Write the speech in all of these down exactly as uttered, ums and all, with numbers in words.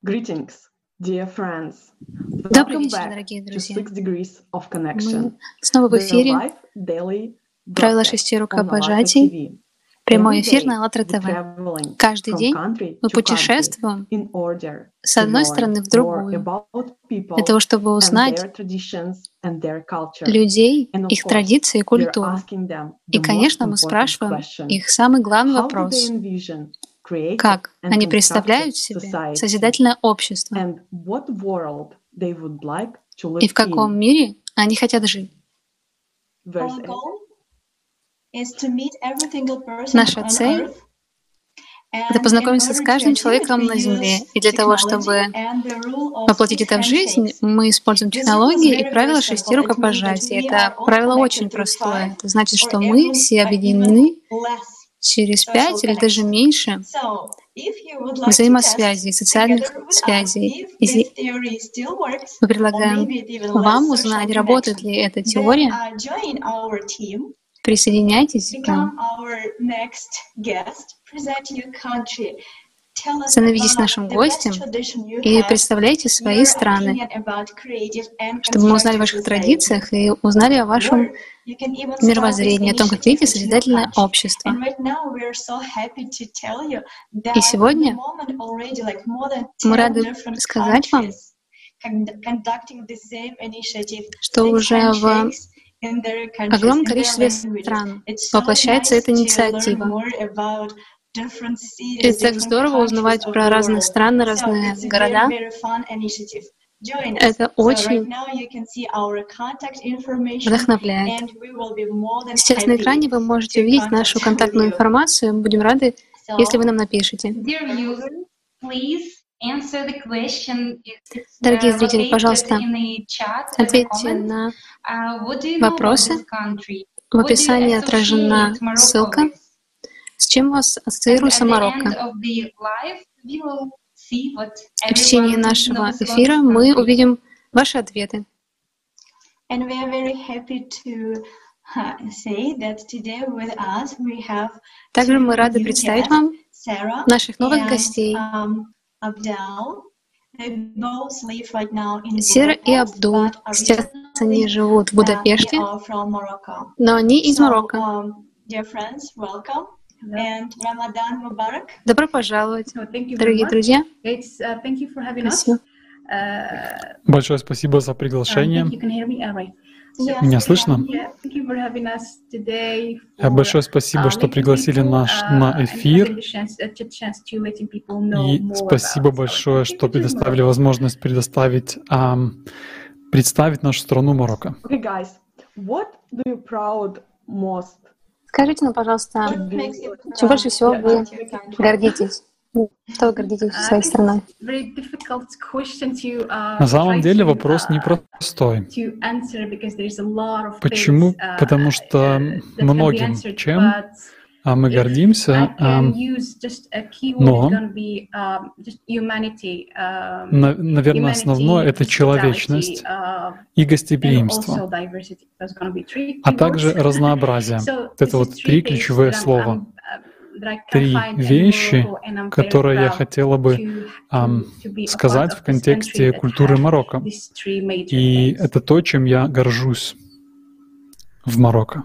Greetings, dear friends. Добрый Welcome вечер, back дорогие to друзья. Six Degrees of Мы Connection, снова в the эфире. live daily Правила broadcast шести on ALLATRA рукопожатий. ти ви. Прямой Every эфир day на АЛЛАТРА we're ТВ. traveling Каждый from день country мы to country путешествуем in order с to одной learn страны в more другую about для people того, чтобы and узнать their traditions and their culture. людей, And of их course, традиции и we're культуру. asking them И, the most конечно, мы important спрашиваем question: их самый главный how do they вопрос. envision creative Как and они constructive представляют себе society, созидательное общество and what world they would like to и live в каком in? мире они хотят жить. Verse Our eight. goal is to meet every single person Наша on цель Earth, — это and in познакомиться с order to каждым achieve it, человеком we на Земле. use И для того, technology чтобы and the rule of воплотить six это в жизнь, handshakes. мы используем This rule is технологии и very, very правила шести simple. It means that рукопожатий. we are Это all правило connected очень through простое. five Это значит, or что мы even, все uh, even объединены less через social пять или даже connections. меньше So, if you would like to test взаимосвязей, социальных together with us связей. if И this зи- theory still works, мы or предлагаем maybe it even less вам social узнать, работает connection, ли эта then теория. uh, join our team. Присоединяйтесь к нам. Become our next guest. Present your country. Tell us Становитесь about нашим the best гостем tradition you и have, представляйте свои your страны, opinion about creative and чтобы мы узнали о constructive ваших society. традициях и узнали о вашем Or you can even start this мировоззрении, о том, как initiative видите at your созидательное country. общество. And right now we are so happy to tell you И that at the сегодня moment already like more than мы ten рады different сказать вам, countries con- conducting the same initiative, что six уже в handshakes in their countries, огромном in their количестве languages. стран It's so воплощается nice эта to learn инициатива. more about different И cities, так different здорово countries узнавать of про the разные world. страны, So разные it's a very, города. very fun initiative. Join us. Это So right очень now you can see our contact information, вдохновляет. and we will be more than Сейчас на happy экране вы можете to увидеть contact нашу with контактную you. информацию. Мы будем рады, если вы So, нам напишите. dear user, please answer the question. It's Дорогие uh, зрители, located пожалуйста, in the chat or the ответьте comment. на Uh, what do you know about вопросы. this country? В What do you описании отражена associate Morocco ссылка, with? с чем у вас And ассоциируется at the end Марокко. of the live, we will see what И в течение everyone нашего knows about эфира this мы country. увидим ваши ответы. And we are very happy to uh, say that today with us we have Также мы two рады new представить guests, вам Sarah наших новых and гостей. um, Abdel. They both live right now in Сера и Budapest, Абдул. but Сейчас они originally живут в uh, they Будапеште, are from Morocco. но они из So, Марокко. um, dear friends, welcome and Ramadan Mubarak. Добро пожаловать, So thank you very дорогие much. друзья. It's uh, thank you for having us. Спасибо. Uh, Большое спасибо за um, приглашение. thank you. Can you hear me? All right. So, Yes, Меня we слышно? can. yeah, thank you for having us today. Э, For Большое спасибо, uh, что letting пригласили people наш uh, на and having эфир. the chance, uh, ch- chance to letting people know И more спасибо about our большое, country, что which is предоставили Morocco. возможность предоставить, ам, представить нашу страну Марокко. Okay, guys, what do you proud most? Скажите нам, пожалуйста, What makes you чем больше proud всего вы about your country? гордитесь? Что вы гордитесь Uh, I своей think страной? it's very difficult question to uh, На самом try деле to вопрос uh, непростой. to answer because there is a lot of Почему? things uh, Потому что uh, that can be многим answered, чем but а, мы if I гордимся, can ам, use just a keyword, но, it's gonna be um, just humanity, um, на- наверное, основное — humanity, это человечность hospitality, uh, и and гостеприимство, also diversity. That's gonna be three а keywords. также разнообразие. So Вот это this вот is три three things ключевые that I'm, слова. I'm, uh, that I can Три find in вещи, Morocco, and I'm very которые я proud хотела бы to, ам, to, to be a part сказать of в this контексте country that культуры have Марокко. these three major И things. это то, чем я горжусь в Марокко.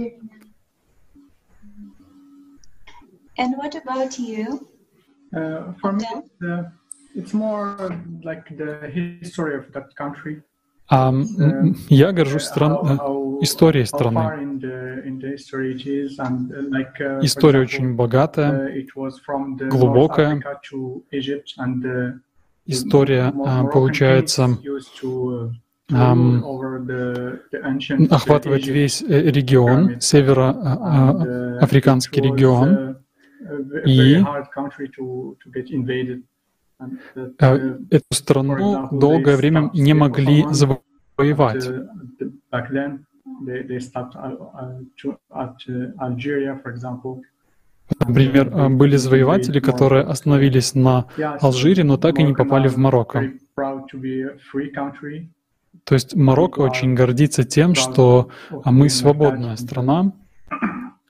And what about you? Uh, for me, Abdel? it's, uh, it's more like the history of that country. А, м, м, я горжусь Uh, стран... how, э, how, историей how страны. far in the, in the history it is, and uh, like uh, for История example, очень богатая, uh, it was from the North глубокая. Africa to Egypt, and uh, История, Mo- а, Moroccan получается, kings used to, uh, to ам, rule over the, the ancient uh, охватывает Egypt весь э, регион, pyramids, and uh, североафриканский it was регион. uh, a ve- И very hard country to, to get invaded. And that, э, uh, эту for страну example, долгое they время stopped не the могли Ottomans. But завоевать. uh, the, back then, they, they stopped uh, uh, to, at uh, Algeria, for example. Например, э, были завоеватели, которые остановились на Yeah, so Алжире, но так и не Moroccan попали в are Марокко. very proud to be a free country. То есть Марокко People are очень гордится тем, proud что of а, мы being свободная attached. страна,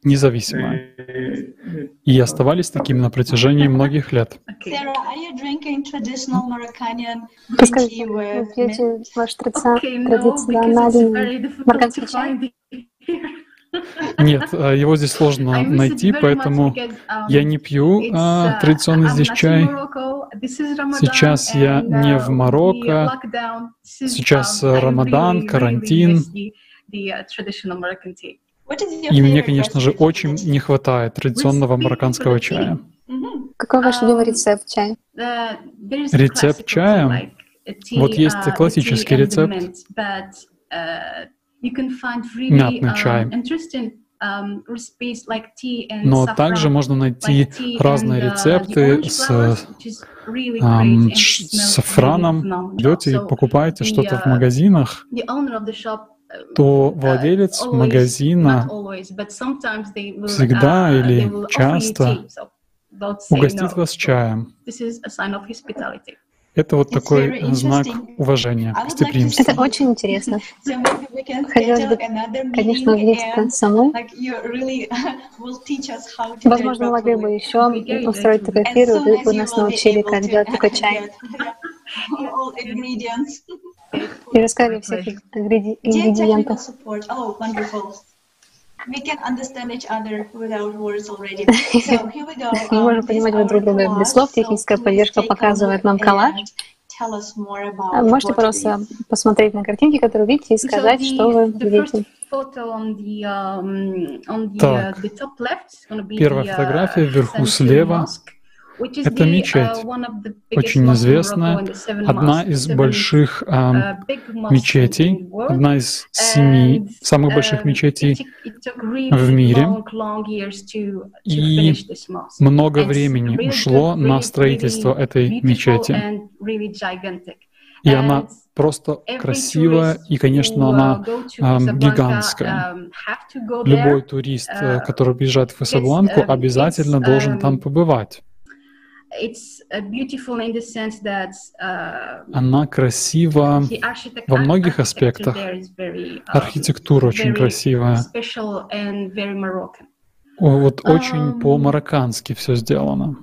независимые. They- И оставались такими на протяжении многих лет. Okay. Sarah, are you drinking traditional Moroccanian green Расскажите, tea вы with milk? пьете ваш традицион- Okay, no, because it's традиционный very difficult марокканский to чай? find it here. Нет, э, его здесь сложно I miss it найти, very much поэтому because, um, я не пью it's, а, uh, традиционный I'm здесь not in чай. Morocco. This is Ramadan, Сейчас я and, не uh, в the Марокко. lockdown, this is, Сейчас um, I Рамадан, really, really карантин. miss the- the, uh, traditional Moroccan tea. What is your И мне, favorite конечно же, recipe for очень this? не хватает традиционного Recipe марокканского for the чая. Мгм. Какой ваш любимый Um, рецепт чая? Uh, there is a Рецепт classical чая. tea, like a tea, Вот есть uh, the классический tea and the рецепт. mint, but, uh, you can find really, Мятный um, чай. interesting, um, recipes like tea and Но saffron, также можно найти like tea разные and, uh, the рецепты orange с flowers, which is really great ам, and ш- smells сафраном. really phenomenal. Идете и So покупаете the, что-то в uh, магазинах, the owner of the shop, uh, то uh, владелец always, магазина not always, but sometimes they will, всегда uh, или they will offer you часто tea, so don't say угостит no. вас чаем. This is a sign of hospitality. Это вот It's такой very знак interesting. уважения, I would like to гостеприимства. Это очень интересно. So maybe we can Хотелось schedule бы, another конечно, meeting увидеться and самой. like you really will teach us how to do it Возможно, мы могли бы properly. еще устроить такой As эфир, и soon вы as бы you нас will be научили, able как to делать такой чай. get all ingredients. И рассказали о всех ингреди- Dear technical ингредиентах. support. Oh, wonderful. We can understand each other without words already. So here we go. Мы Um, можем this понимать is друг our друга без collage. слов. So Техническая please поддержка take a показывает look нам коллаж. and tell us more about А Можете what it просто is. посмотреть на картинки, которые видите, и сказать, so что вы the, the first видите. photo on the um, on the, uh, Так. the top left is going to be Первая the, uh, фотография вверху Century слева. Mosque, which is Это the, мечеть, uh, one of the biggest очень mosques in известная, Morocco and the seven одна mosques, из seven, больших ам, uh, big mosques in мечетей, the world. одна из семи And, самых больших um, мечетей it took- it took really в мире. long, long years to, to И finish this mosque. Много And it's времени really ушло good, на really, строительство really этой beautiful мечети. and really gigantic. И она And просто every красивая, tourist и, конечно, who, uh, она go to ам, Casablanca, гигантская. um, have to go Любой there. турист, uh, э, который приезжает в Касабланку, yes, um, обязательно it's, должен um, там побывать. It's uh, beautiful in the sense that uh, Она красива the architect- во многих architecture аспектах. there is very, um, Архитектура очень very красивая. special and very Moroccan. О, Вот очень Ам. по-мароккански все сделано.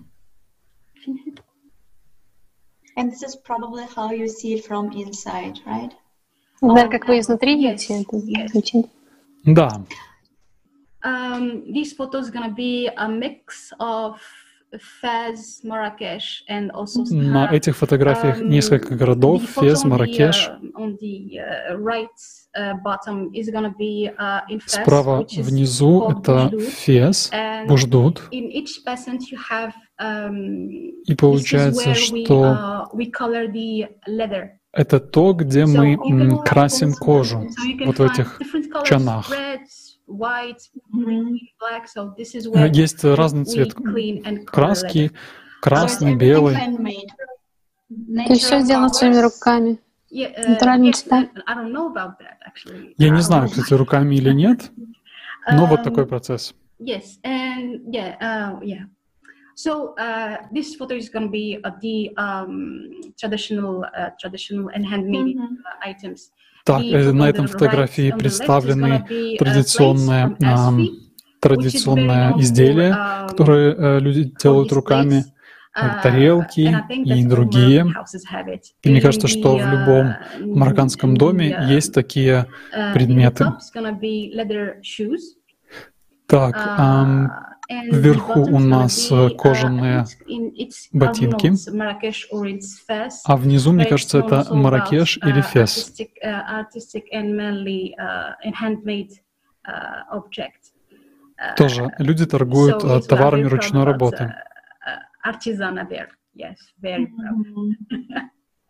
And this is probably how you see it from inside, right? Наверное, как вы изнутри Yes, видите, это yes. замечательно. Да, Um, these photos gonna be a mix of Fez, Marrakesh, and also на Sahara. этих фотографиях Um, несколько the городов: photo Фес, on the, Марракеш. uh, on the uh, right uh, bottom is gonna be uh, in Fez, Справа which is внизу called это Boujdoud. Фес, And Буждуд. in each peasant you have um, И this is получается, where we, что uh, we color the leather. это то, где So мы you can м, also- красим кожу. So you can Вот в find этих different colors, чанах. red, white, Mhm. green, black. So this is Э, where Есть разный we цвет clean and color краски: leather. So it's красный, everything белый. handmade. То есть все сделано своими руками. Yeah, uh, Натуральные yes, цвета. I don't know about that actually. Я не Uh, знаю, кстати, руками или нет, но вот такой um, процесс. Yes, and yeah, uh, yeah. So uh, this photo is going to be of the um, traditional, uh, traditional and handmade Mhm. uh, items. Так, The э, photo на on этом the фотографии right, on the left is представлены gonna be, uh, традиционные, plates from ам, Asfi, which is very традиционные known изделия, for, um, которые э, люди for делают these руками, plates. э, Uh, тарелки and I think и that all другие. Moroccan houses have it. И мне In кажется, что the, в любом uh, марокканском in доме the, uh, есть такие uh, предметы. in the top is gonna be leather shoes. Так, Uh, ам, and вверху the bottom у is gonna нас, be, э, кожаные uh, in, it's, ботинки. I don't know, it's Marrakesh or it's Fez, а внизу, мне but it's кажется, known это also Марракеш about, или uh, Фес. artistic, uh, artistic and mainly uh, and handmade uh, object. Uh, Тоже люди торгуют so э, it's- we are товарами very proud ручной about, работы. uh, uh, artisanal there. Yes, very proud. Mhm.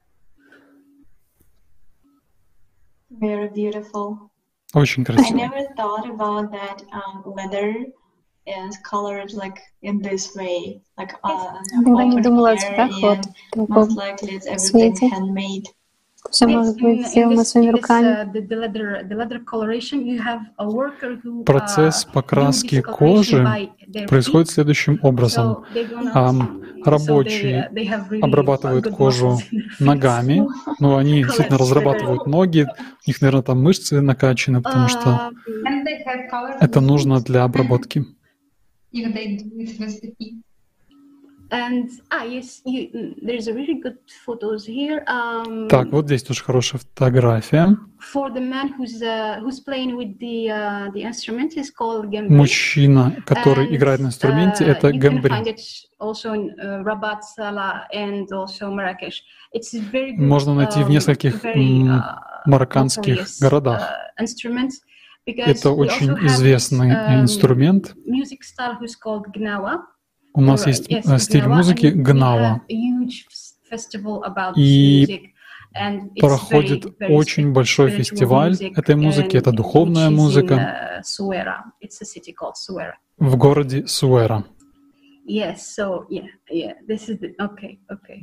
Very beautiful. Очень I красиво. never thought about that um, leather is colored like in this way, like uh, Никогда не open думала о air, цветах вот and в таком. most likely it's everything цвете. handmade. Все Yes, может in- быть in сделано this- своими in this, руками. uh, the, the leather, the leather coloration, you have a worker who, Процесс uh, покраски do this coloration кожи by their происходит feet. следующим образом. So they're gonna- Ам, so рабочие they, uh, they have really обрабатывают good кожу muscles in their feet. ногами, но они действительно Correct. разрабатывают ноги, у них, наверное, там мышцы накачаны, потому что Uh, And they hair color. Это нужно для обработки. If they do it with the heat. And ah yes, you, mm, there's a really good photos here. Um, Так, вот здесь тоже хорошая фотография. For the man who's uh, who's playing with the uh, the instrument is called gambri. Мужчина, который And, играет на инструменте, uh, это you can find гамбри. it also in uh, Rabat, Salah, and also Marrakesh. It's a very good, Можно найти в um, нескольких very, м, uh, марокканских notorious, городах. uh, instrument, because Это we очень also have известный this, um, инструмент. music style who's called Gnawa. У нас Or, есть yes, э, стиль Gnawa, музыки and we гнава. have a huge f- festival about И this music, and it's проходит very, very очень большой spiritual фестиваль music, этой музыки. and Это духовная which is in, музыка uh, Suera. It's a city called Suera. в городе Суэра. Yes, so yeah, yeah, this is the, okay, okay.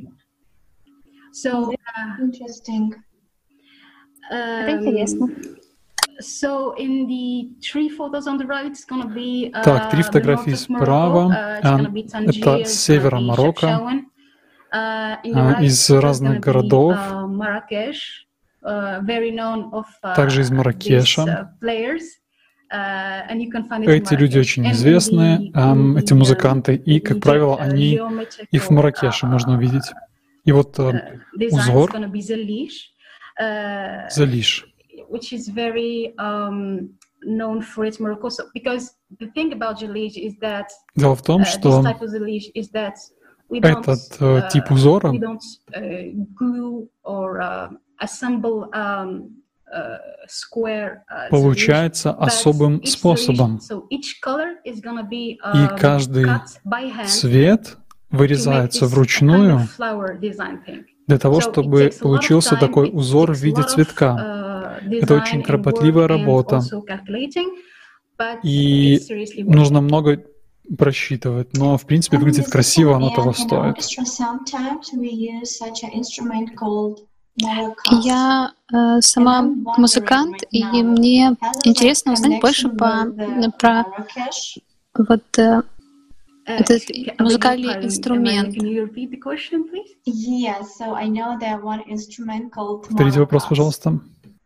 So, uh, Interesting. Это um, интересно. so in the three photos on the right, it's gonna be uh, Так, три the фотографии north of Morocco. справа. Uh, it's А, gonna be Tangier, это it's с gonna севера be Марокко. Chefchaouen. Uh, in the А, right из photo, it's разных gonna be, городов. uh, Marrakesh, uh, very known of uh, Также из these Марракеша. uh, players. Uh, and you can find it in Эти люди Marrakesh. очень And in известные, the- ам, in эти the, музыканты, и, in как Egypt, правило, uh, они geometrical, и в Марракеше можно uh, увидеть. И вот uh, э, design is узор gonna be Zalish, uh, Залиш. which is very um, known for its Morocco. So, because the thing about Zalish is that Дело в том, uh, что this type of Zalish is that we don't, этот э, uh, тип узора we don't uh, glue or uh, assemble um, uh, square uh, получается Zalish, but особым each способом. Zalish- so each color is gonna be И um, каждый cut by hand цвет to make вырезается this вручную kind of flower design thing. для того, So it чтобы takes a lot of получился time, такой it узор в takes a виде lot of, цветка. uh, Это design очень and кропотливая work and работа. also calculating, but И it's seriously worth нужно it. много просчитывать, но в принципе And выглядит this is красиво, so, оно and того in the стоит. orchestra sometimes we use such an instrument called maracas. Я э, сама And I'm wondering музыкант, right и now, мне has it, интересно like, узнать больше connection по, with the про Marrakesh? вот э, Uh, этот excuse- I beg your музыкальный pardon, инструмент. Can you repeat the question, please? Yes, so I know that one instrument called Повторите вопрос, maracas. пожалуйста.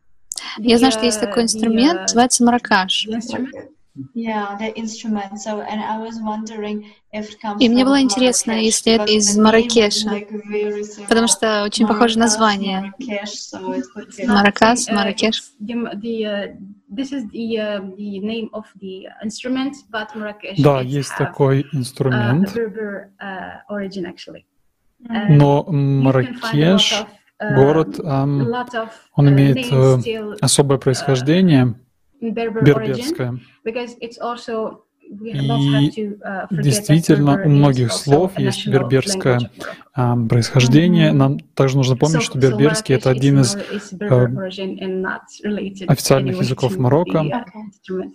Я The, знаю, что есть uh, такой the, инструмент, uh, называется маракаш. the instrument. Yeah, the instrument. So, and I was wondering if it comes И мне from было интересно, Marrakesh, если это because из the name is, Марракеша, like, very similar. потому что очень похоже Maracas, название. Marrakesh, so it could be. Маракас, Uh, Марракеш. it's the, the, uh, this is the, uh, the name of the instrument, but Marrakesh Да, it есть have, такой uh, инструмент, Berber uh, origin actually. Mm. но You can find a lot Марракеш, of, uh, город, a ам, lot of, он uh, имеет names э, still особое происхождение, in Berber origin, берберское. because it's also we И don't have to uh, forget that действительно, Berber у is многих also слов a есть national берберское language of Morocco. ам, происхождение. Мгм. Нам также нужно помнить, So- что so берберский — это Marrakesh один is из Mar- is Berber э, origin and not related официальных anyway языков to Марокко. the, uh, Okay. instrument.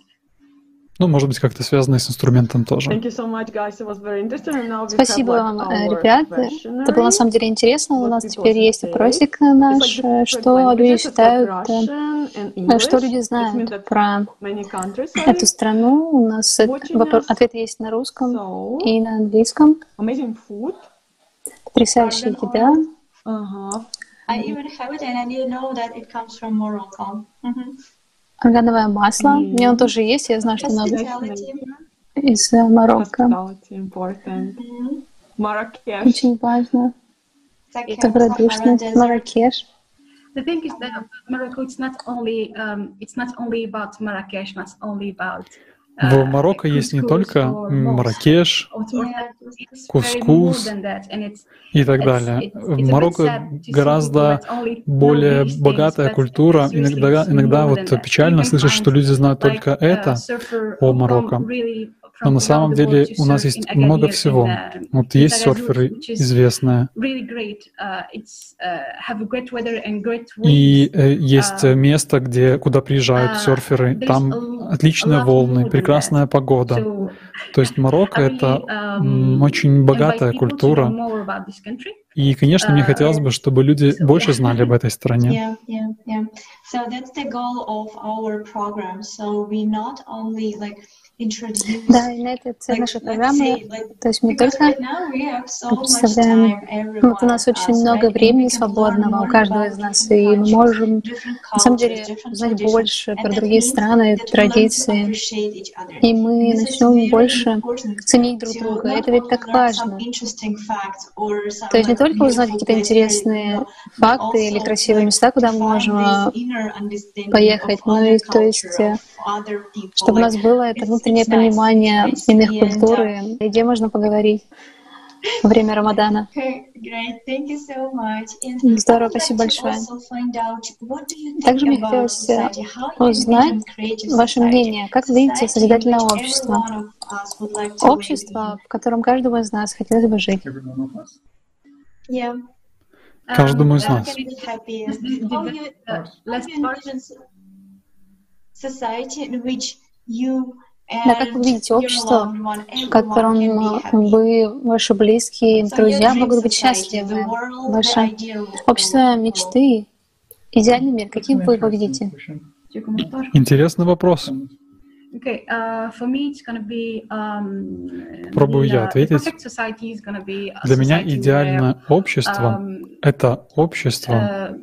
Ну, может быть, как-то связано с инструментом тоже. Thank you so much, guys. It was very interesting. And now we Спасибо have, вам, like, э, our ребята. Это было на questionnaire. самом деле интересно. У What нас people теперь есть say. опросик It's наш, like э, different что люди languages. It's like считают, э, Russian and э, English. что люди It means знают that про many countries are эту страну. У нас это- watching вопро- us. ответ есть на русском So, и на английском. amazing food. Потрясающая Garden еда. oil. Uh-huh. I even have it, and I didn't know that it comes from Morocco. Mhm. Органовое масло. Мгм. У меня он тоже есть. Я знаю, что оно Hospitality. из э, Марокко. Hospitality important. Mhm. Marrakesh. Очень важно. Second, Добродушность. Sahara Desert. Марракеш. The thing is that Morocco, it's not only um, it's not only about Marrakesh, not only about. В uh, Марокко есть не couscous только or м, mousse. Марракеш Or- or- Yeah. It's very more Кускус than that, and it's и так It's- далее. it's- it's a В bit Марокко sad to see гораздо people that only know более these things, богатая but культура. seriously, Иногда, it's иногда more вот than that. печально You can слышать, find, что люди знают like, только a это surfer о who come Марокко. really Но from на around самом the деле world to у нас surf есть in много Agadir, всего. in, uh, Вот in есть Tagazout, серферы which is известные, really great. Uh, it's uh, have a great weather and great winds. и э, есть Uh, э, место, где, куда приезжают uh, серферы. there's Там a- отличные a lot волны, more than прекрасная that. погода. So То есть Марокко — I это really, um, м, очень invite богатая people to культура. know more about this country. И, конечно, мне Uh, хотелось бы, чтобы люди so, больше yeah. знали об этой стране. Yeah, yeah, yeah. So that's the goal of our program. So we not only like introduce. Да, и на этой цель Like, нашей let's программы, say, like, то есть мы because только right now we have so much представляем, time, every вот у one нас of очень us, много right? And we времени can learn свободного у more каждого about из нас, different и мы countries, можем different на самом cultures, деле different узнать traditions, больше and про that другие means страны, that we learn to традиции, appreciate each other. и мы And this is начнем very больше important ценить друг to друга. not Это ведь only так learn some важно. interesting facts or some То есть не like только узнать beautiful какие-то places where, you интересные know, but факты или also красивые like места, to куда мы find можем this а, inner understanding of поехать, но other и то есть, culture, э, of other people. чтобы у Like нас было это it's внутреннее it's nice, it's понимание nice. иных And культур, uh, и где можно поговорить во время Рамадана. okay, great, thank you so much. And I Здорово, would like спасибо to большое. also find out what do you think Также мне about хотелось э, society? How you узнать envision creative ваше society? мнение. Как вы видите Society in созидательное which every общество? one of us would like to live in. Общество, в котором каждому из нас хотелось бы жить. Every one of us. Yeah. Каждому Um, из uh, нас. Can we be happy? let's do- How divide, you, uh, how let's you start. envision so- society in which you Да, как вы and видите your общество, loved one, в everyone котором can be э, happy. вы, ваши близкие, So your друзья dream могут быть society, the счастливы. world, the Ваше ideal общество world. мечты, идеальный мир, It's каким an вы его interesting видите? question. Your комментар. Интересный вопрос. Okay, uh, for me, it's gonna be um, Попробую the, я uh, the ответить. perfect society is gonna be a Для меня society идеальное общество where, um, — это общество, uh,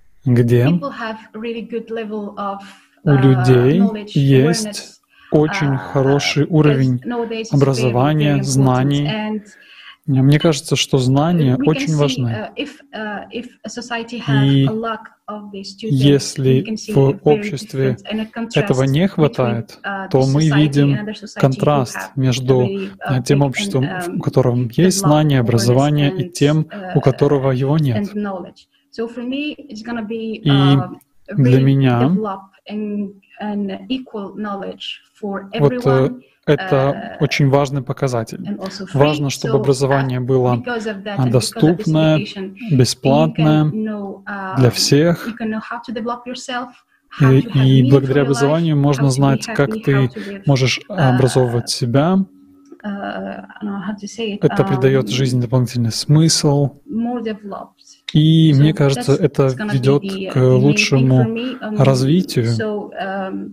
где people have a really good level of у uh, людей knowledge, есть awareness, очень uh, хороший because уровень nowadays it's very, образования, very important. знаний. And Мне кажется, что знания we can очень see, важны. uh, if, uh, if a society have И a lack of these two things, если we can see в a very обществе difference and a contrast этого не between, хватает, uh, то this мы society видим and other society who контраст have между really, uh, э, тем big обществом, and, um, в котором есть developed знания, awareness образование, и and, тем, у uh, которого его нет. and knowledge. So for me, it's gonna be И uh, для really меня develop and, and equal knowledge for вот everyone. э, это uh, очень важный показатель. And also free. Важно, чтобы So, образование uh, было because of that а, and because of this доступное, education, you бесплатное can know, uh, для всех. you can know how to develop yourself, how И, to have и meaning for благодаря your life, образованию how можно to be знать, как happy, ты how to live, можешь uh, образовывать себя. uh, I don't know how to say it, Это um, придает жизни дополнительный смысл. more developed. И So мне кажется, that's- это that's gonna be ведет the, к uh, the main thing лучшему for me. Um, развитию. So, um,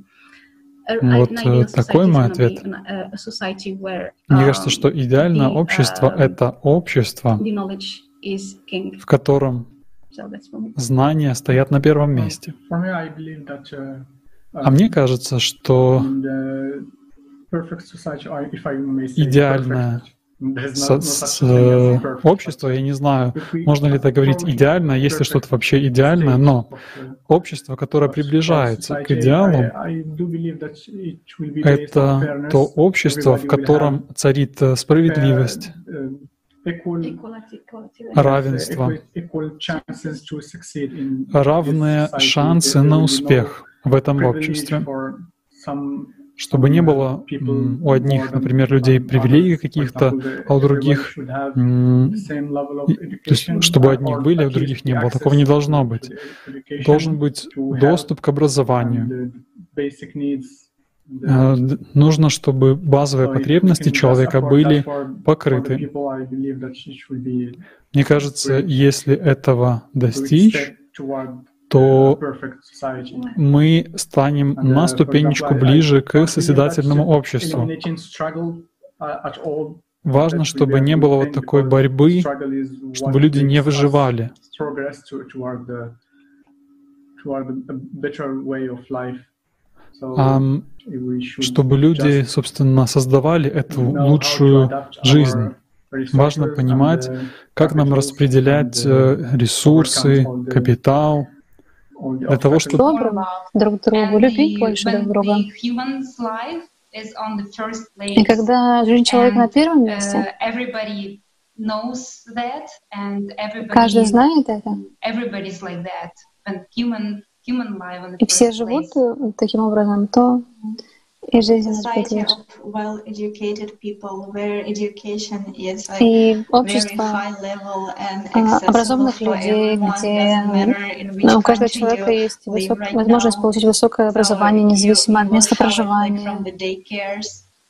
a- Вот, an ideal э, такой society is мой gonna be ответ. an- a- a society where, Мне кажется, um, что идеальное the, общество — um, это общество, the knowledge is king. в котором So that's for me. знания стоят на первом месте. For me, I believe that uh, А мне кажется, что in the perfect society, or if I may say идеальное perfect, there's со- no- no с- such thing as э, perfect, общество, but я не знаю, if we можно ли это говорить approach идеально, есть ли perfect что-то вообще идеальное, stage но of, uh, общество, которое of приближается к society, идеалу, I- I do believe that it will be based on это fairness. то общество, в Everybody will котором have царит э, справедливость, fair, uh, equal, Equality, equality. равенство, equal, equal chances to succeed in равные this society. шансы There на will be no успех в этом privilege обществе. for some Чтобы не было м, у одних, например, людей привилегий каких-то, а у других, м, и- то есть, чтобы у одних были, а у других не было. Такого не должно быть. Должен быть доступ к образованию. Э, д- Нужно, чтобы базовые потребности человека были покрыты. Мне кажется, если этого достичь, то мы станем на ступенечку ближе к созидательному обществу. Важно, чтобы не было вот такой борьбы, чтобы люди не выживали. А м, чтобы люди, собственно, создавали эту лучшую жизнь. Важно понимать, как нам распределять э, ресурсы, капитал, для того, чтобы Доброго друг другу, And любить the- больше when друг друга. the human's life is on the first place, И когда жизнь человека на and, первом uh, месте, everybody knows that, and каждый everybody, знает это, everybody's like that. When human human life on the и все first живут place. э, таким образом, то и жизнь наша будет Society лучше. of well-educated people, where education is like И very общество high level and а, accessible образованных for людей, everyone, где doesn't matter in which ну, у каждого country человека you есть live высок- right возможность now. получить высокое So образование, you- независимо you от will места have it, like, проживания. from the daycares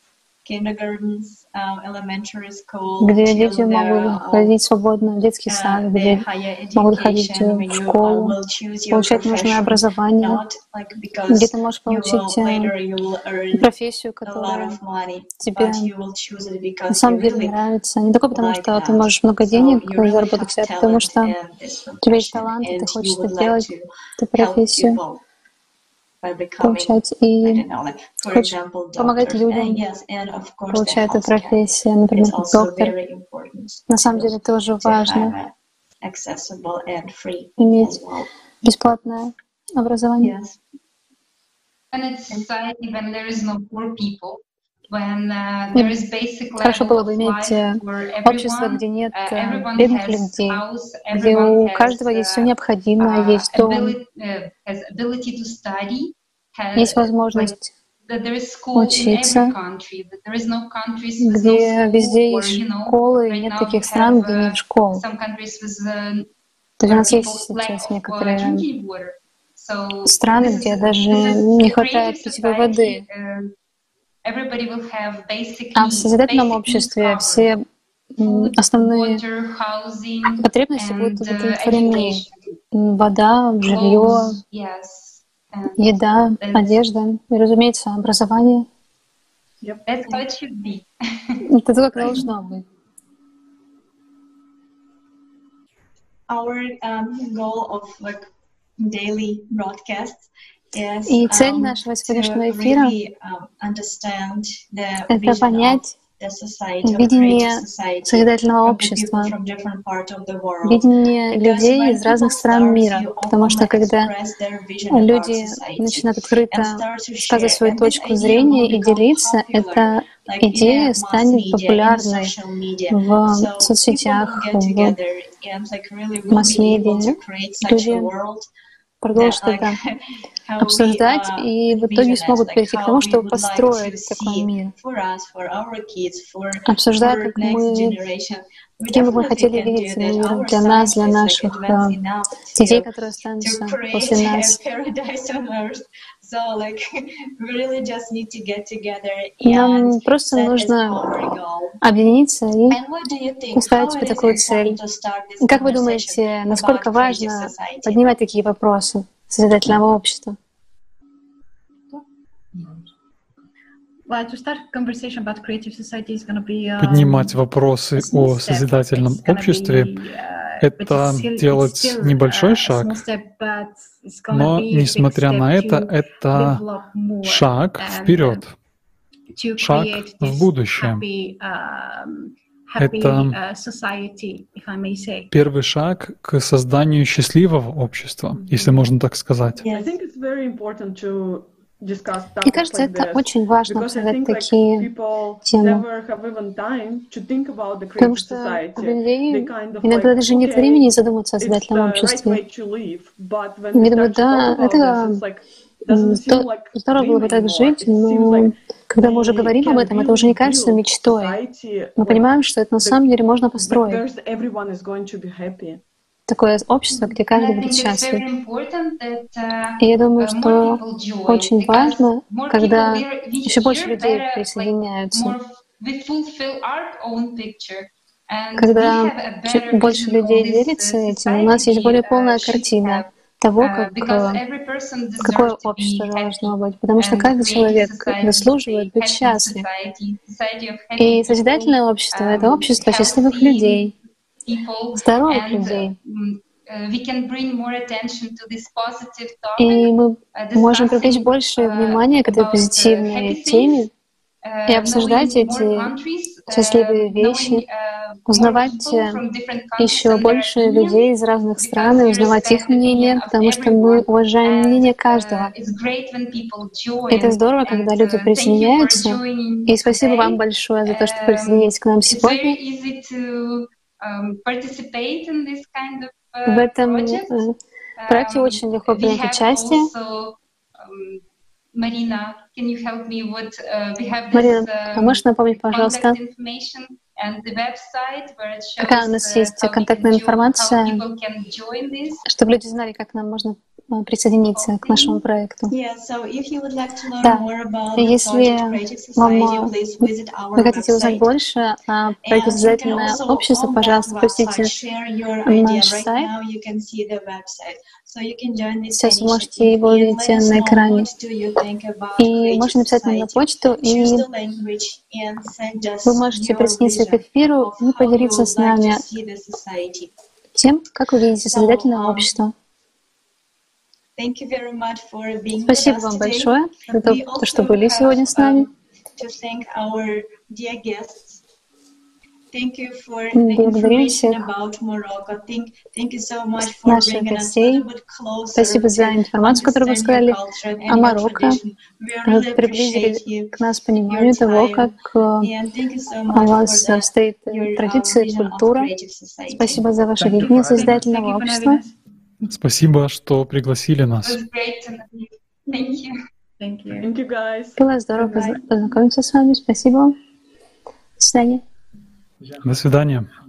kindergartens, um, elementary school, где till дети the, могут uh, ходить свободно в детский uh, сад, the где higher могут ходить education, в when you uh, школу, will choose your получать нужное profession, образование, not like где because ты можешь you will получить э, later you will earn профессию, a lot которая of money, тебе but you will choose it на because you самом деле really нравится. Не только потому, like что ты that. можешь много So денег you really заработать, have а потому talent что in this у тебя есть profession, талант, и ты and хочешь you это would like делать, to эту help профессию, people by becoming, получать. I И don't know, like for хочешь example, помогать doctors. And людям, yes, and of course, the получая эту healthcare профессию, is например, как also доктор. very important На самом to деле тоже to важно have it accessible and free as иметь well. бесплатное образование. Yes. And it's society when there is no poor people, when uh, there is basic Хорошо level было бы of иметь life э, for общество, everyone. где нет Uh, э, everyone бедных has людей, house, где everyone у has каждого есть все uh, необходимое, uh, есть дом, ability, uh, has ability to study, has, есть like возможность that there is school in every учиться, country, that there is no countries with no где school, везде or есть you know, школы, и right нет now we таких стран, have где uh, нет школ. some countries with uh, То есть у where нас есть people lack сейчас of uh, некоторые drinking water. So страны, this is где даже this is не creative хватает питьевой society. воды. Uh, everybody will have basic А в need, созидательном basic needs обществе covered. все м, Food, основные water, housing, потребности будут and uh, удовлетворены. education, М, Вода, жилье, clothes, yes, and еда, that's одежда и, разумеется, образование. that's how it should be. Это то, как должно быть. Our um, goal of like daily broadcasts is И цель um, нашего to сегодняшнего эфира really um, understand the — это vision of понять the society, of the creative видение society созидательного from the people общества, from different parts of the world. видение Because людей when из разных people стран start мира. to Потому что openly когда express their vision about люди society начинают and открыто start to сказывать share, свою and this точку idea will зрения и become делиться, popular, эта like in идея a mass станет media, in a популярной social media. в So people will соцсетях, get в together and like really will be able to масс-медиа. create such a Люди world that продолжат like это how we обсуждать uh, и в envision итоге it, смогут like перейти к how тому, we чтобы would like to построить такой see мир. for us, for our kids, for Обсуждая, for как next мы, generation. We каким бы мы definitely хотели can видеть do that. мир Our для нас, science для is like наших advanced э, enough детей, to которые to останутся create после a нас. paradise on earth. So like we really just need to get together Нам and просто set as нужно our goal. объединиться и And what do you think? поставить How себе it is такую цель. important to start this И как вы conversation думаете, насколько about creative важно society? поднимать такие вопросы созидательного общества? Well, to start conversation about creative society is going to be um, Поднимать вопросы a small о step. созидательном It's gonna обществе be, uh, — but это it's still, it's делать still, небольшой uh, a шаг, small step, but it's gonna но, be a big несмотря step на это, to это develop more шаг and, вперед, to шаг create в this будущее. happy, um, happy Это uh, society, if I may say. первый шаг к созданию счастливого общества, если можно так сказать. I think it's very important to discuss Мне topics кажется, like это this, очень важно because I обсуждать think like такие people темы. never have even time to think about the Потому creative что у society. людей They kind of иногда like, даже нет okay, времени задуматься о it's созидательном the right обществе. way to live, but when Они we думают, start to talk да, about это this, it's like doesn't seem то- like здорово было dream бы так anymore. жить, It seems но like когда мы уже we говорим об can этом, это уже не really кажется build мечтой. society Мы like понимаем, что это на the- самом деле можно where построить. everyone is going to be happy. Такое общество, где And каждый I будет think it's счастлив. very important that uh, И я думаю, uh, что more people join, очень because важно, more когда people we, we еще больше hear людей better, like присоединяются. more we fulfill our own picture, and we Когда have a чуть better больше vision людей of this делится uh, этим, у нас есть society более uh, полная should картина have, того, uh, как, because э, every person какое deserves to общество be должно happy, быть. Потому что and каждый creative человек society is заслуживает a быть happy счастлив. society, society of happy И people, созидательное общество — это um, общество счастливых healthy людей, people, здоровых and людей. um, uh, we can bring more attention to this positive topic, И мы uh, можем привлечь discussing больше uh, внимания к этой about uh, позитивной happy теме things, uh, и обсуждать knowing more эти countries, uh, счастливые knowing вещи, uh, more узнавать people э, from different countries еще and their больше opinions, людей из разных стран и because we узнавать их respect the мнение, opinion of потому что мы everyone. уважаем And мнение uh, каждого. it's great when people Это join. здорово, And когда люди uh, thank you for присоединяются. joining И спасибо вам today. большое за то, что Um, присоединились к нам It's сегодня. very easy to um, participate in this kind of В uh, этом project. э, проекте Um, очень легко we принять have участие. also, um, Marina, can you help me with, uh, we have this Марина, а um, можешь напомнить, пожалуйста, contact information and the website where it shows какая у нас uh, есть how we can контактная jo- how информация, people can join this. чтобы люди знали, как нам можно а, присоединиться к нашему проекту. Yeah, so if you would like to learn Да, more about и the если project Creative вам, Society, а, please visit our вы хотите узнать website. больше о проекте And you can «Созидательное also общество», on that пожалуйста, посетите website share your idea. наш Right сайт. now you can see the website. So you can join this Сейчас вы можете initiative его and увидеть let us на know экране. what do you think about И Creative можете написать нам на Society. почту, Choose и the language and send us вы можете your присоединиться к vision эфиру of и how you поделиться would с like to нами see the society. тем, как вы видите So, созидательное um, общество. thank you very much for being with Спасибо us вам today. большое за то, We то, что also были сегодня с нами. have um, to thank our dear guests. Thank you for the Благодарим information всех about Morocco. Thank, thank you so much for наших bringing us a гостей. little bit closer Спасибо за to информацию, которую вы understand your сказали culture and о your Марокко. tradition. We Вы really appreciate приблизили you, к нас your пониманию того, time, как э, and thank you so у much for вас the, стоит your uh, традиция, vision of культура. Creative Society. Спасибо за ваше Thank you видение for having us. Thank созидательного you for общества. having us. Спасибо, что пригласили It нас. was great to know you. Thank you. Thank you. Thank you, guys. Было здорово Bye-bye. позна- познакомиться с вами. Спасибо. До свидания. До свидания.